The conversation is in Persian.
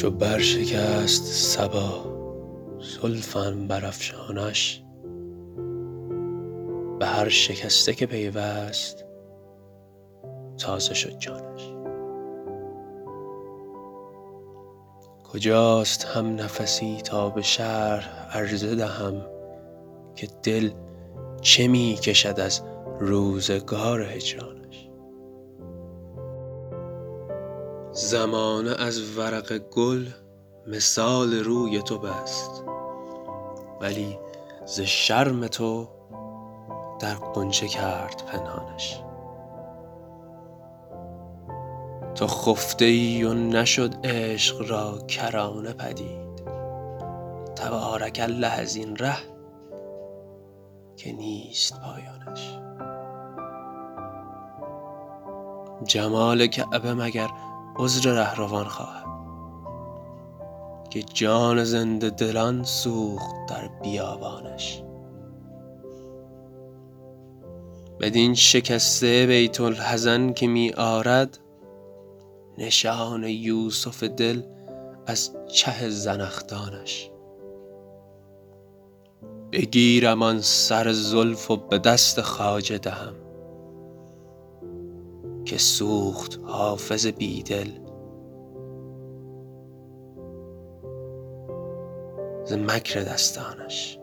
چو برشکست صبا زلفم برافشانش، به هر شکسته که پیوست تازه شد جانش. کجاست هم نفسی تا به شرح عرضه دهم، که دل چه می کشد از روزگار هجرانش. زمانه از ورق گل مثال روی تو بست، ولی ز شرم تو در غنچه کرد پنهانش. تو خفته ای و نشد عشق را کرانه پدید، تبارک الله از این ره که نیست پایانش. جمال کعبه مگر عذر رهروان خواهد، که جان زنده دلان سوخت در بیابانش. بدین شکسته بیت الحزن که می آرد، نشان یوسف دل از چه زنخدانش. بگیرم آن سر زلف و به دست خواجه دهم، که سوخت حافظ بیدل ز مکر دستانش.